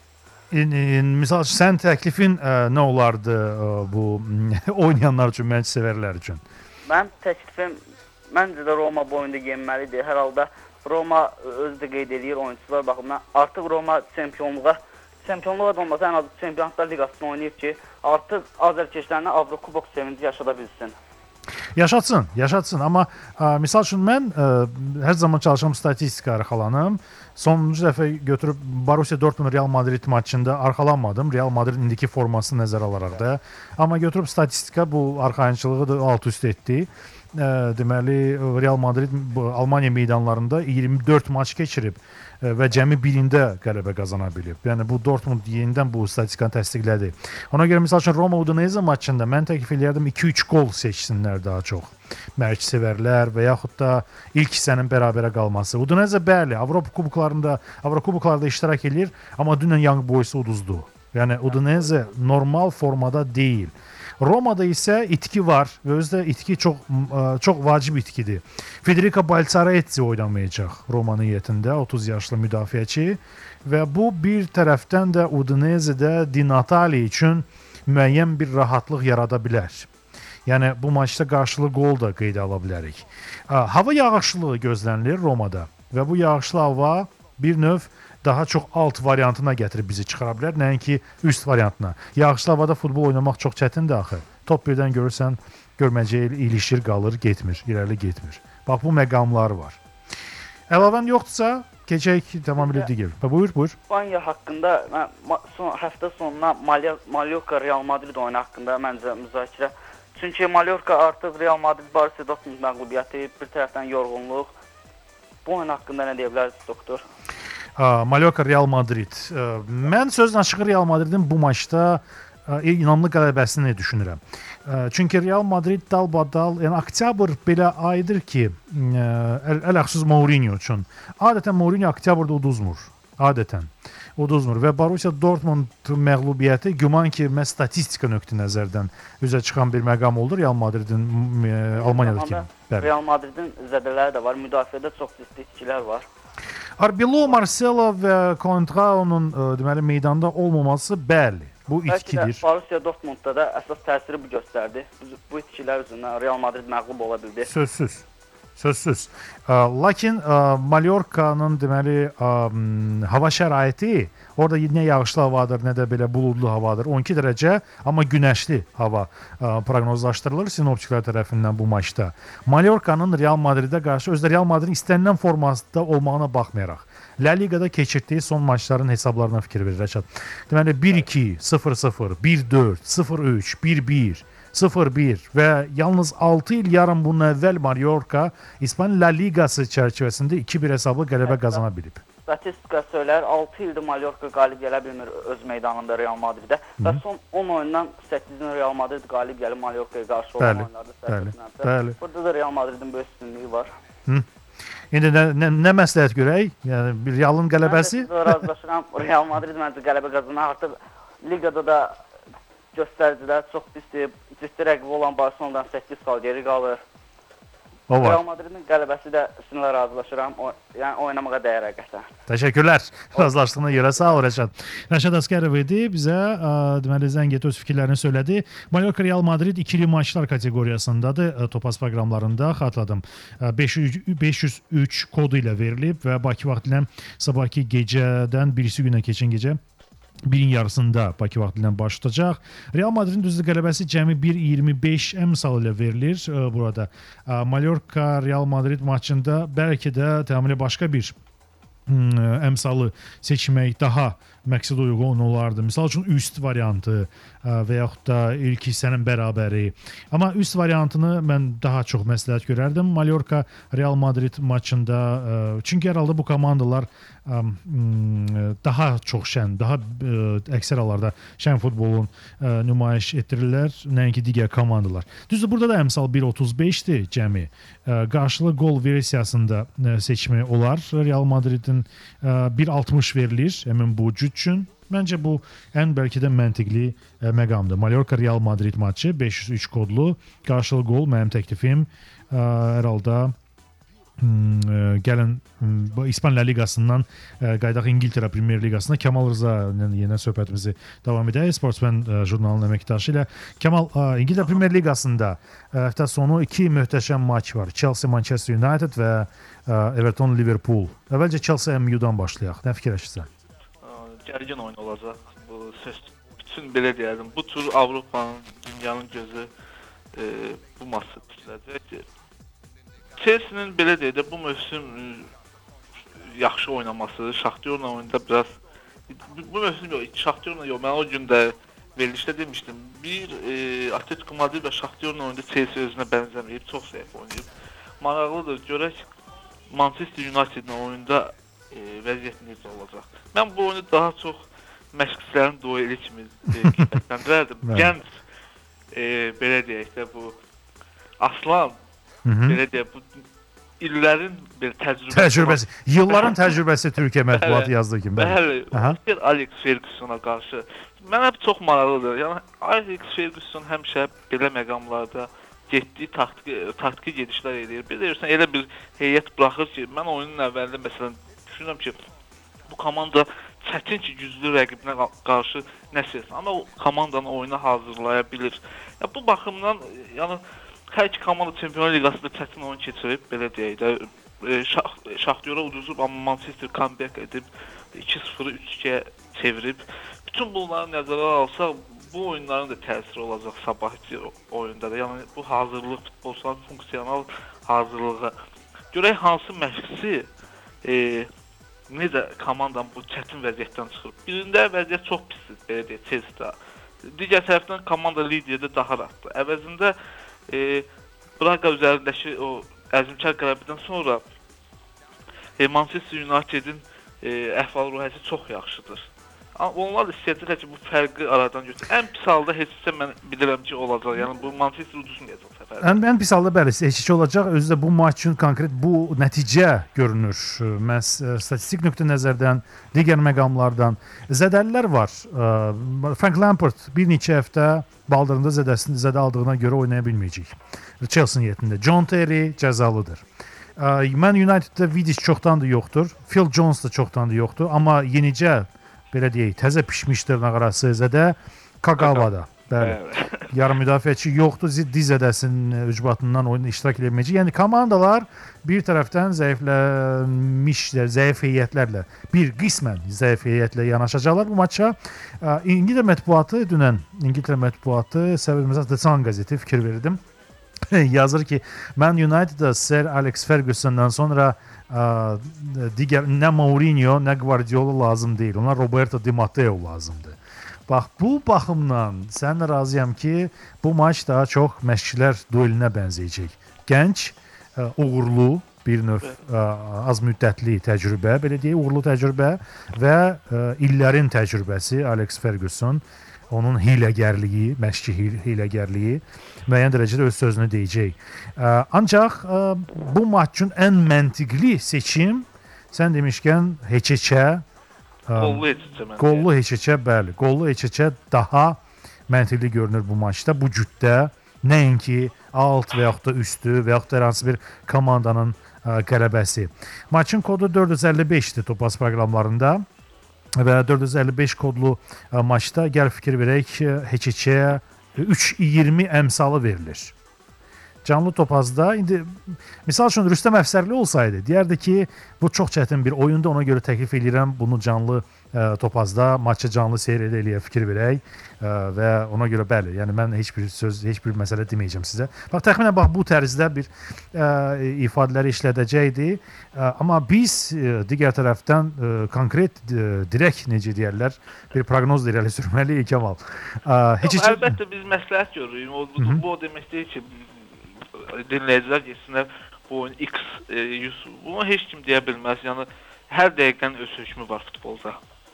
Misal sən təklifin ə, nə olardı ə, bu oynayanlar üçün, məncə sevərlər üçün? Mənim təklifim məncə də Roma bu oyunda yenməlidir. Hər halda Roma özü də qeyd edir oyunçular baxımından. Artıq Roma çempionluğa, çempionluğa da olmasa ən az Çempionlar Liqasını oynayıb ki, artıq azərkeşlərinə Avrokubok sevinci yaşada bilsin. Yaşatsın, yaşatsın. Amma ə, misal üçün mən ə, hər zaman çalışıram statistika arxalanım. Sonuncu dəfə götürüb Borussia Dortmund Real Madrid maçında arxalanmadım. Real Madrid indiki formasını nəzərə alaraq da. Amma götürüb statistika bu arxayınçılığı da alt üst etdi. Ə, deməli Real Madrid Almaniya meydanlarında iyirmi dörd maç keçirib ə, və cəmi birində qələbə qazana bilib. Yəni bu Dortmund yenidən bu statistikanı təsdiqlədi. Ona görə məsəl üçün Roma Udinese maçında mən təklif eləyərdim iki üç gol seçsinlər daha çox. Mərc sevərlər və yaxud da ilk hissənin bərabərə qalması. Udinese bəli, Avropa kuboklarında, Avrokuboklarda iştirak edir, amma dünən Young Boys'u uduzdu. Yəni Udinese normal formada deyil. Roma'da isə itki var və özdə itki çox çox vacib itkidir. Federico Balzaretti oynamayacaq Roma heyətində, otuz yaşlı müdafiəçi və bu bir tərəfdən də Udinese'də Di Natale üçün müəyyən bir rahatlıq yarada bilər. Yəni bu maçda qarşılı gol da qeydə ala bilərik. Hava yağışlılığı gözlənilir Roma'da və bu yağışlı hava bir növ daha çox alt variantına gətirib bizi çıxara bilər, nəinki üst variantına. Yağışlı havada futbol oynamaq çox çətindir axı. Top birdən görürsən, görməcəyə ilişir, qalır, getmir, irəli getmir. Bax bu məqamlar var. Əlavən yoxdursa, keçək tamamilə digər. Buyur, buyur. İspaniya haqqında mən son həftə sonuna Mallorca Real Madrid oyunu haqqında məncə müzakirə. Çünki Mallorca artıq Real Madrid Borussia Dortmund məğlubiyyəti, bir tərəfdən yorğunluq. Bu oyun haqqında nə deyə bilərsiniz, doktor? Mallorca Real Madrid. Mən sözün açığı Real Madridin bu maçda inamlı qələbəsini düşünürəm. Çünki Real Madrid dalbadal, yəni oktyabr belə aydır ki, ələxüsus Mourinho üçün. Adətən Mourinho oktyabrda uduzmur. Adətən uduzmur və Borussia Dortmund məğlubiyyəti güman ki, məhz statistika nöqteyi nəzərdən üzə çıxan bir məqam oldu Real Madridin Almaniyadakı. Real Madridin zədələri də var, müdafiədə çox ciddi itkilər var. Arbelo, Marcelo və Contrao'nun deməli meydanda olmaması bəli, bu itkidir. Bəlkə də Borussia Dortmundda da əsas təsiri bu göstərdi. Bu itkilər üzündən Real Madrid məğlub ola bildi. Sözsüz. Sözsüz. Lakin Mallorcanın deməli hava şəraiti orada nə yağışlı havadır, nə də belə buludlu havadır. on iki dərəcə, amma günəşli hava proqnozlaşdırılır sinoptiklər tərəfindən bu maçda. Mallorcanın Real Madridə qarşı özdə Real Madridin istənilən formasında olmağına baxmayaraq La Ligada keçirdiyi son maçların hesablarına fikir verir Rəşad. Deməli bir iki, sıfır sıfır, bir dörd, sıfır üç, bir bir, sıfır bir və yalnız altı il yarım bundan əvvəl Mallorca İspan La Ligası çərçivəsində iki bir hesablı qələbə qazana bilib. Statistika söylər, altı ildir Mallorca qalib gələ bilmir öz meydanında Real Madridə və son on oyundan səkkizini Real Madrid qalib gəlib Mallorca'ya qarşı olan oyunlarda səhv. Burada da Real Madridin böyük üstünlüyü var. Hı. İndi nə, nə, nə məsləhət görək? Yəni bir Realın qələbəsi? Mən razılaşıram. Real Madrid məncə qələbə qazanar. Artıq ligada da göstəricilər çox pisdir. Ciddi rəqibi olan Barcelonadan səkkiz xal geri qalır. Real Madridin qələbəsi də üstünlə razılaşıram. O, yəni oynamağa dəyər həqiqətən. Təşəkkürlər. Razılaşdığına görə sağ ol Rəşad. Rəşad Əsgərov idi. Bizə ə, deməli zəng etdi, öz fikirlərini söylədi. Mallorca Real Madrid ikili maçlar kateqoriyasındadır. Ə, Topaz proqramlarında xatırladım. beş yüz üç kodu ilə verilib və Bakı vaxtı ilə sabahki gecədən birisi günə keçən gecə birin yarısında Bakı vaxtı ilə başlayacaq. Real Madridin düzdür qələbəsi cəmi bir iyirmi beş əmsal ilə verilir ə, burada. Ə, Mallorca Real Madrid maçında bəlkə də tamamilə başqa bir ə, əmsalı seçmək daha məqsəd uyğun olardı. Misal üçün üst variantı ə, və yaxud da ilk hissənin bərabəri. Amma üst variantını mən daha çox məsləhət görərdim. Mallorca Real Madrid maçında ə, çünki hər halda bu komandalar ə, daha çox şən, daha ə, əksər hallarda şən futbolun ə, nümayiş etdirirlər, nəinki digər komandalar. Düzdür, burada da əmsal bir otuz beşdir cəmi. Ə, qarşılı gol versiyasında ə, seçmək olar. Real Madridin ə, bir altmış verilir həmin bu cüt üçün. Məncə bu ən bəlkə də məntiqli ə, məqamdır. Mallorca Real Madrid maçı beş yüz üç kodlu. Qarşılı gol mənim təklifim. Ə, hər halda ə, gəlin ə, İspan La Ligasından ə, qaydaq İngiltərə Premier Ligasına Kamal Rıza ilə yenə söhbətimizi davam edək. Sportsmen ə, jurnalının əməkdaşı ilə. Kamal, ə, İngiltərə Premier Ligasında ə, həftə sonu iki möhtəşəm maç var. Chelsea Manchester United və ə, Everton Liverpool. Əvvəlcə Chelsea M U-dan başlayaq. Nə fikirləşirsən? Gərgin oyun olacaq. Bu söz bütün belə deyərdim. Bu tur Avropanın, dünyanın gözü e, bu maçı tutulacaq. Chelsea-nin belə deyək də bu mövsüm e, yaxşı oynaması, Shakhtarla oyunda biraz bu mövsüm yox, Shakhtarla yox. Mən o gün də verilişdə demişdim. Bir e, Atletico Madrid və Shakhtarla oyunda Chelsea özünə bənzəməyib, çox zəif oynayıb. Maraqlıdır. Görək Manchester United-la oyunda E, vəziyyət necə olacaq. Mən bu oyunu daha çox məşqçilərin dueli kimi qiymətləndirərdim. Gənc e, belə deyək də bu Aslan Hı -hı. belə deyək bu illərin bir təcrübəsi. Təcrübəsi. Yılların təcrübəsi Türkiyə mətbuatı yazdığı kimi. Bəli. Bəli. Alex Fergusona qarşı mənə çox maraqlıdır. Yəni Alex Ferguson həmişə belə məqamlarda getdiyi taktiki, taktiki gedişlər edir. Bir deyirsən elə bir heyət buraxır ki, mən oyunun əvvəlində məsələn düşünürəm ki, bu komanda çətin ki, güclü rəqibinə qarşı nəsə etsin. Amma o komandanı oyuna hazırlaya bilir. Ya, bu baxımdan, yəni, hər iki komanda Çempionlar Liqasında çətin oyun keçirib, belə deyək də, e, Shakhtar'a uduzub, amma Manchester comeback edib, iki sıfırı üç ikiyə çevirib. Bütün bunları nəzərə alsaq, bu oyunların da təsiri olacaq sabahki oyunda da. Yəni, bu hazırlıq, futbolçuların funksional hazırlığı. Görək hansı məşqçi e, necə komandanın bu çətin vəziyyətdən çıxır. Birində vəziyyət çox pisdir, belə deyək, Chelsea-də. Digər tərəfdən komanda liderdə daha rahatdır. Əvəzində e, Braga üzərindəki o əzmkar qələbədən sonra e, Manchester United-in e, əhval-ruhiyyəsi çox yaxşıdır. Onlar da istəyəcəklər ki, bu fərqi aradan götür. Ən pis halda heçsə mən bilirəm ki, olacaq. Yəni bu Manchester uduzmayacaq səfərdə. Ən, ən pis halda bəli, heçsə olacaq. Özü də bu maç üçün konkret bu nəticə görünür. Məhz statistik nöqtə nəzərdən, digər məqamlardan zədəlilər var. Frank Lampard bir neçə həftə baldırında zədəsini zədə aldığına görə oynaya bilməyəcək. Chelsea heyətində. John Terry cəzalıdır. Man United-də Vidic çoxdandır yoxdur. Phil Jones da çoxdandır yoxdur. Amma yenicə belə deyək, təzə pişmiş dırnaq arası zədə Kagawa'da. Bəli. Yarım müdafiəçi yoxdur. Diz zədəsinin ücbatından oyunda iştirak edilməyəcək. Yəni komandalar bir tərəfdən zəifləmiş, zəif heyətlərlə, bir qismən zəif heyətlə yanaşacaqlar bu maça. İngiltərə mətbuatı dünən İngiltərə mətbuatı səbəbimizə The Sun qəzeti fikir verdim. Yazır ki, Man United'da Sir Alex Ferguson'dan sonra ə, digər nə Mourinho, nə Guardiola lazım deyil. Onlar Roberto Di Matteo lazımdır. Bax, bu baxımdan səninlə razıyam ki, bu maç daha çox məşqçilər duelinə bənzəyəcək. Gənc, ə, uğurlu bir növ ə, az müddətli təcrübə, belə deyək, uğurlu təcrübə və ə, illərin təcrübəsi Alex Ferguson, onun hiləgərliyi, məşqçi hiləgərliyi müəyyən dərəcədə öz sözünü deyəcək. Ə, ancaq ə, bu maç üçün ən məntiqli seçim, sən demişkən heç-heçə, qollu heç-heçə. Qollu heç-heçə, bəli. Qollu heç-heçə daha məntiqli görünür bu maçda, bu cütdə. Nəinki alt və yaxud da üstü və yaxud da hər hansı bir komandanın ə, qələbəsi. Maçın kodu dörd yüz əlli beşdir Topaz proqramlarında. Və dörd yüz əlli beş kodlu ə, maçda gəl fikir verək, heç-heçəyə üç iyirmi əmsalı verilir. Canlı Topazda indi misal üçün Rüstəm Əfsərli olsaydı, deyərdi ki, bu çox çətin bir oyundur, ona görə təklif edirəm bunu canlı ə, Topazda maçı canlı seyr eləyə fikir verək ə, və ona görə bəli, yəni mən heç bir söz, heç bir məsələ deməyəcəm sizə. Bax təxminən bax bu tərzdə bir ə, ifadələri işlədəcəkdi. Ə, amma biz ə, digər tərəfdən ə, konkret ə, direkt necə deyirlər, bir proqnoz irəli sürməliyik Kəmal. Ə, heç heç əlbəttə biz məsləhət görürük. O, bu, bu o demək deyil ki, dinləyicilər getsinlər bu oyun X yüz. Bunu heç kim deyə bilməz. Yəni hər dəqiqənin öz hökmü var futbolda.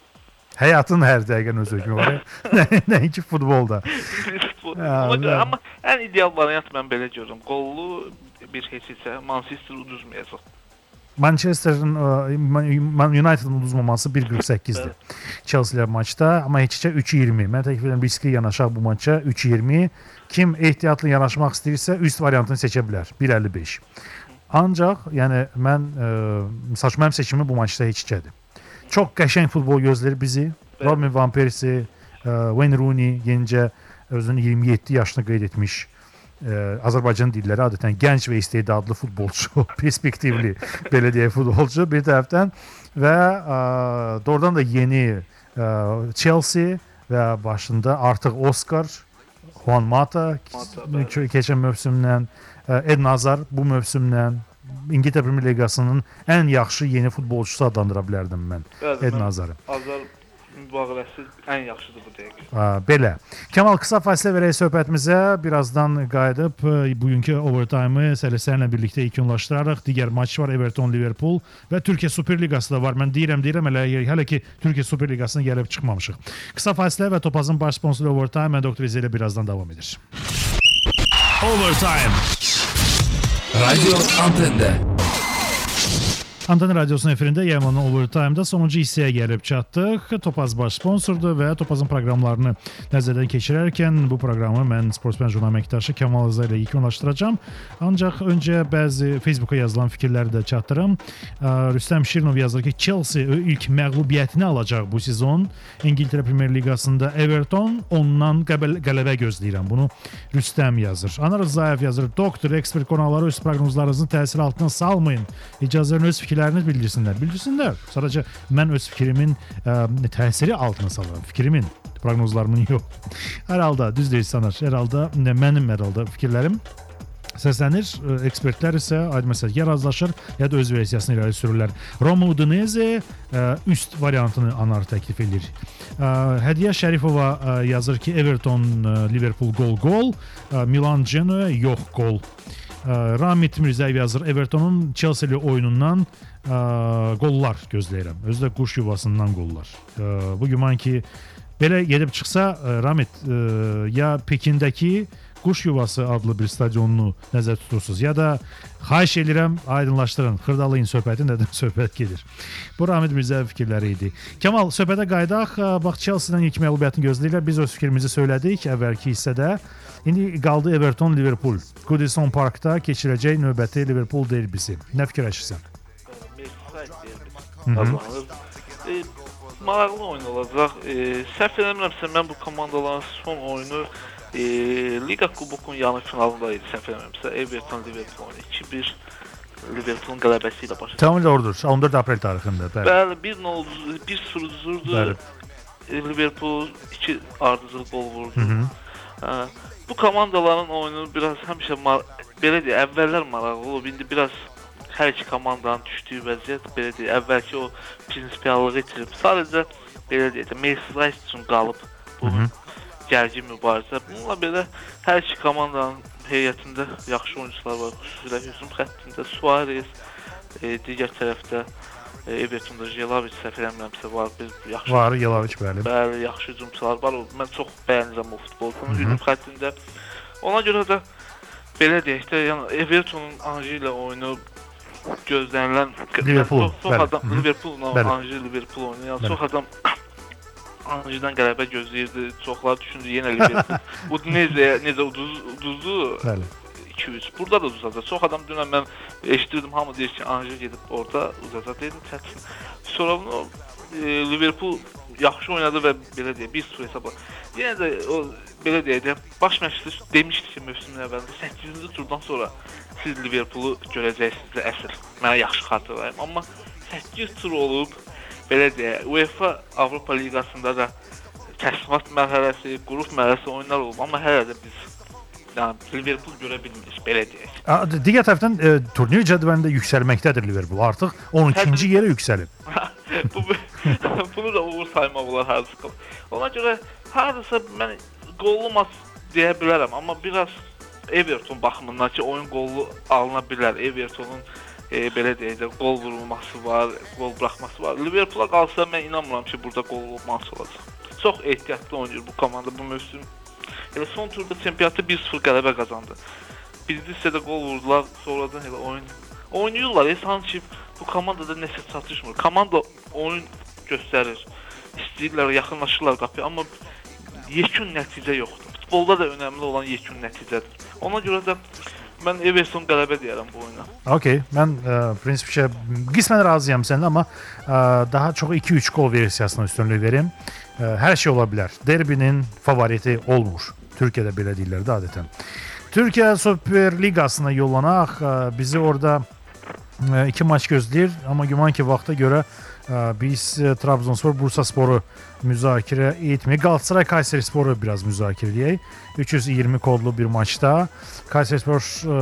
Həyatın hər dəqiqənin öz hökmü var. Nəinki futbolda. Futbol. Görə, amma ən ideal variant mən belə görürəm. Qollu bir heç-heçə Manchester uduzmayacaq. Manchester'ın Man United'ın uduzmaması bir qırx səkkizdir. Chelsea-lə maçda, amma heç-heçə üç iyirmi. Mən təklif edirəm riskli yanaşaq bu maça üç iyirmi. Kim ehtiyatlı yanaşmaq istəyirsə üst variantını seçə bilər. bir əlli beş. Ancaq, yəni mən e, məsəl üçün mənim seçimim bu maçda heç-heçədir. Çox qəşəng futbol gözləyir bizi. Robin Van Persie, e, Wayne Rooney yenicə özünün iyirmi yeddi yaşını qeyd etmiş. Ee, Azərbaycan dilləri adətən gənc və istedadlı futbolçu, perspektivli belə deyək futbolçu bir tərəfdən və ə, doğrudan da yeni ə, Chelsea və başında artıq Oscar, Juan Mata, Mata keçən mövsümdən, ə, Eden Hazard bu mövsümdən İngiltərə Premyer Liqasının ən yaxşı yeni futbolçusu adlandıra bilərdim mən Eden Hazardı. Hazard mübaliğəsi ən yaxşıdır bu dəqiqə. Belə. Kəmal, qısa fasilə verək söhbətimizə. Birazdan qayıdıb bugünkü overtime-ı sələslərlə birlikdə yekunlaşdırarıq. Digər maç var, Everton Liverpool və Türkiyə Super Liqası da var. Mən deyirəm, deyirəm hələ, hələ ki Türkiyə Super Liqasına gəlib çıxmamışıq. Qısa fasilə və Topazın baş sponsoru Overtime. Mən Doktor İzə ilə birazdan davam edir. Overtime. Radio Antende. Antena Radyosu'nun efirində Yaman'ın Overtime'da sonuncu hissəyə gəlib çatdıq. Topaz baş sponsordur və Topazın proqramlarını nəzərdən keçirərkən bu proqramı mən sportsmen jurnal əməkdaşı Kəmal Rza ilə yekunlaşdıracağam. Ancaq öncə bəzi Facebook'a yazılan fikirləri də çatdırım. Rüstəm Şirinov yazır ki, Chelsea ilk məğlubiyyətini alacaq bu sezon. İngiltərə Premyer Liqasında Everton ondan qələbə gözləyirəm. Bunu Rüstəm yazır. Anar Rzayev yazır. Doktor, ekspert qonaqları öz proqnozlarınızın təsir altına salmayın. İcazələrini öz fikirlərini bildirsinlər. Bildirsinlər. Sadəcə mən öz fikrimin ə, təsiri altına salıram. Fikrimin, proqnozlarımın yox. Hər halda düz deyil sanar. Hər halda mənim hər halda fikirlərim səslənir. Ekspertlər isə aydın məsələ ya razılaşır, ya da öz versiyasını irəli sürürlər. Roma Udinese üst variantını Anar təklif edir. Hədiyə Şərifova yazır ki, Everton Liverpool gol-gol, Milan Genoa yox gol. Ramit Mirzəyev yazır, Everton'un Chelsea-li oyunundan ə, qollar gözləyirəm. Özü də quş yuvasından qollar. Ə, bu güman ki, belə gedib çıxsa, ə, Ramit ə, ya Pekindəki quş yuvası adlı bir stadionunu nəzər tutursunuz, ya da xahiş edirəm, aydınlaşdırın, xırdalayın söhbəti, nədən söhbət gedir. Bu Ramit Mirzəyev fikirləri idi. Kəmal, söhbətə qaydaq, bax, Chelsea-dən ilk məğlubiyyətini gözləyirlər. Biz öz fikrimizi söylədik əvvəlki hissədə. İndi qaldı Everton Liverpool. Goodison Parkda keçirəcək növbəti Liverpool derbisi. Nə fikirləşirsən? e, maraqlı oyun olacaq. E, səhv eləmirəmsə mən bu komandaların son oyunu e, Liga Kubokun yarı finalında idi. Səhv eləmirəmsə Everton Liverpool oyunu iki bir Liverpoolun qələbəsi ilə başa. Tamam doğrudur. on dörd aprel tarixində. Bəli. Bəli, bir nol bir sıfır uzurdu. Bəli. Liverpool iki ardıcıl gol vurdu. Hı -hı. Hə, bu komandaların oyunu biraz həmişə belə deyə əvvəllər maraqlı olub. İndi biraz hər iki komandanın düşdüyü vəziyyət belə deyə əvvəlki o prinsipiallığı itirib. Sadəcə belə deyə Merseyside üçün qalıb bu Hı -hı. gərgin mübarizə. Bununla belə hər iki komandanın heyətində yaxşı oyuncular var. Xüsusilə hücum xəttində Suarez, e, digər tərəfdə e, Everton'da Jelavic səhv eləmirəmsə var. Biz yaxşı var, Jelavic bəli. Bəli, yaxşı hücumçular var. Mən çox bəyənirəm o futbolçunun hücum xəttində. Ona görə də belə deyək də, yəni Everton'un Anji ilə oyunu gözlənilən Liverpool, çox, çox adam Liverpool-la Anji Liverpool oyunu. Yəni çox adam Anji'dən qələbə gözləyirdi. Çoxlar düşündü yenə Liverpool. Udinese necə uduz uduzdu? Bəli. iki üç. Burada da uzacaq. Çox adam dünən mən eşidirdim, hamı deyir ki, Anji gedib orada uzacaq. Dedim çətin. Sonra bunu e, Liverpool yaxşı oynadı və belə deyə bir sıfır hesabla. Yenə də o belə deyə də baş məşqçi demişdi ki, mövsümün əvvəlində səkkizinci turdan sonra siz Liverpoolu görəcəksiniz əsl. Mənə yaxşı xatırlayım. Amma səkkiz tur olub belə deyə UEFA Avropa Liqasında da təslimat mərhələsi, qrup mərhələsi oyunlar olub. Amma hələ də biz yəni Liverpool görə bilmirik, belə deyək. Digər tərəfdən e, turnir cədvəlində yüksəlməkdədir Liverpool. Artıq on ikinci yerə yüksəlib. Bu bunu da uğur saymaq olar hardasa. Ona görə hardasa mən qollu maç deyə bilərəm, amma biraz Everton baxımından ki, oyun qollu alına bilər. Everton'un e, belə deyək də qol vurulması var, qol buraxması var. Liverpool'a qalsa mən inanmıram ki, burada qollu maç olacaq. Çox ehtiyatlı oynayır bu komanda bu mövsüm. Elə son turda çempionatda bir sıfır qələbə qazandı. Birinci hissədə qol vurdular, sonradan elə oyun oynayırlar. E, sanki bu komandada nəsə çatışmır. Komanda oyun göstərir. İstəyirlər, yaxınlaşırlar qapıya, amma yekun nəticə yoxdur. Futbolda da önəmli olan yekun nəticədir. Ona görə də mən Everton qələbə deyərəm bu oyuna. Okey, mən e, prinsipcə qismən razıyam səninlə, amma e, daha çox iki üç gol versiyasına üstünlük verim. E, hər şey ola bilər. Derbinin favoriti olmur. Türkiyədə belə deyirlər də adətən. Türkiyə Süper Liqasına yollanaq, e, bizi orada e, iki maç gözləyir, amma güman ki vaxta görə e, biz e, Trabzonspor Bursasporu müzakirə etməyək. Galatasaray Kayserisporu biraz müzakirə edək. üç yüz iyirmi kodlu bir maçda Kayserispor e,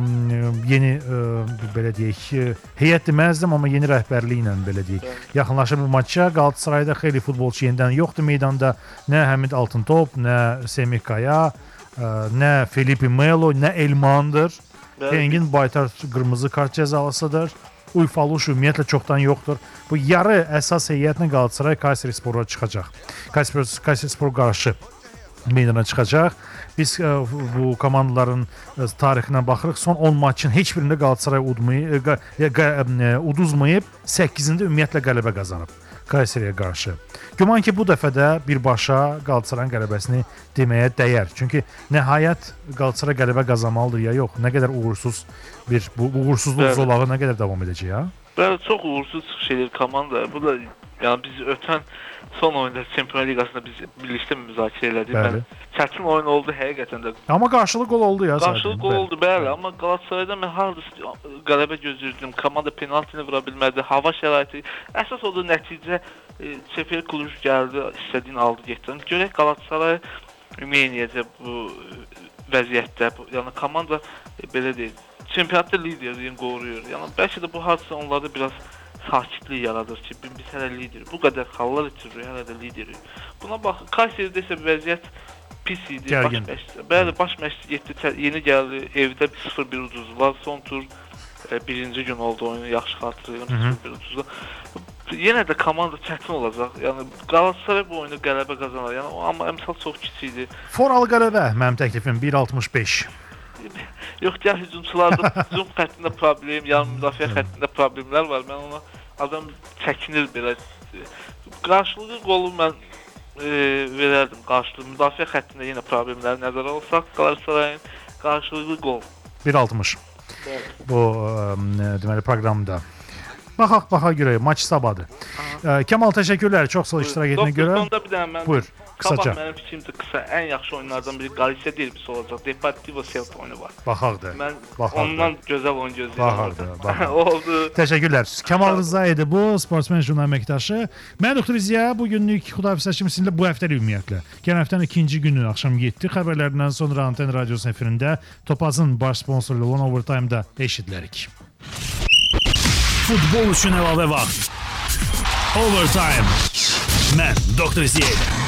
yeni e, belə deyək, heyət deməzdim, amma yeni rəhbərliyi ilə belə deyək, yaxınlaşır bu maça. Galatasarayda xeyli futbolçu yenidən yoxdur meydanda. Nə Həmid Altıntop, nə Semih Kaya, e, nə Felipe Melo, nə Elmandır. Engin Baytar qırmızı kart cəzalısıdır. Uyfaluş ümumiyyətlə çoxdan yoxdur. Bu yarı əsas heyətlə Galatasaray Kayserispora çıxacaq. Kayserispor, Kayserispor qarşı meydana çıxacaq. Biz ə, bu komandaların ə, tarixinə baxırıq. Son on maçın heç birində Galatasaray udmayıb, ə, ə, uduzmayıb, səkkizində ümumiyyətlə qələbə qazanıb Kayseriyə qarşı. Güman ki, bu dəfə də birbaşa Galatasarayın qələbəsini deməyə dəyər. Çünki nəhayət Galatasaray qələbə qazanmalıdır ya yox. Nə qədər uğursuz bir bu uğursuzluq zolağı nə qədər davam edəcək ya? Bəli, çox uğursuz şeylər komanda. Bu da yəni biz ötən son oyunda Çempionlar Liqasında biz birlikdə müzakirə elədik. Bəli. Çətin oyun oldu həqiqətən də. Amma qarşılıq gol oldu ya. Qarşılıq gol oldu, bəli. Amma Galatasaraydan mən hardasa qələbə gözləyirdim. Komanda penaltini vura bilmədi. Hava şəraiti. Əsas odur nəticə. Sefer Kluj gəldi, istədiyini aldı, getdi. Görək Galatasaray ümumiyyətlə bu vəziyyətdə. Yəni komanda belə deyil. Çempionatda liderliyin qoruyur. Yəni bəlkə də bu hadisə onlarda biraz sakitlik yaradır ki, biz hələ liderik. Bu qədər xallar itiririk, hələ də liderik. Buna bax, Kayseridə isə vəziyyət pis idi. Baş məşqçi. Bəli, baş məşqçi getdi, yeni gəldi, evdə sıfır bir uduzdular. Son tur e, birinci gün oldu oyunu, yaxşı xatırlayıram, sıfır bir uduzdular. Yenə də komanda çətin olacaq. Yəni Galatasaray bu oyunu qələbə qazanar. Yəni amma əmsal çox kiçik idi. Foralı qələbə mənim təklifim bir altmış beş. Yox, gəl hücumçularda hücum xəttində problem, yəni müdafiə xəttində problemlər var. Mən ona adam çəkinir belə. Qarşılıqlı qolu mən e, verərdim. Qarşılıqlı müdafiə xəttində yenə problemləri nəzərə alsaq, Galatasarayın qarşılıqlı qol bir altmış. Bu ə, deməli proqramda. Baxaq, baxa görək, maç sabahdır. Kemal təşəkkürlər çox sağ ol iştirak etdiyinə görə. Doktor, sonda bir dənə mən Buyur. Qısaca. Mənim fikrimcə qısa ən yaxşı oyunlardan biri Galicia derbisi olacaq. Deportivo Celta oyunu var. Baxaq da. Mən Baxaq ondan da. Gözəl oyun gözləyirəm. Baxaq da. Oldu. Təşəkkürlər. Kemal Rıza idi bu sportsmen jurnal əməkdaşı. Mən Doktor Ziya bu günlük Xudafizləşmə sizinlə bu həftəlik ümumiyyətlə. Gələn həftənin ikinci günü axşam yeddi xəbərlərindən sonra Anten Radiosu efirində Topazın baş sponsoru olan Overtime-da eşidilərik. Futbol üçün əlavə vaxt. Overtime. Mən Doktor Ziya.